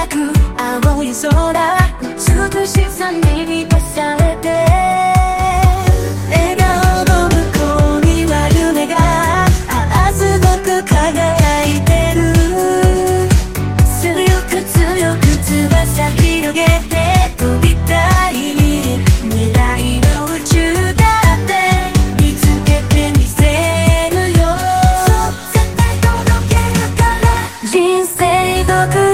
輝く青い空、美しさに満たされて、笑顔の向こうには夢がすごく輝いてる。強く強く翼広げて飛びたい、未来の宇宙だって見つけてみせるよ。そう絶対届けるから。人生ごく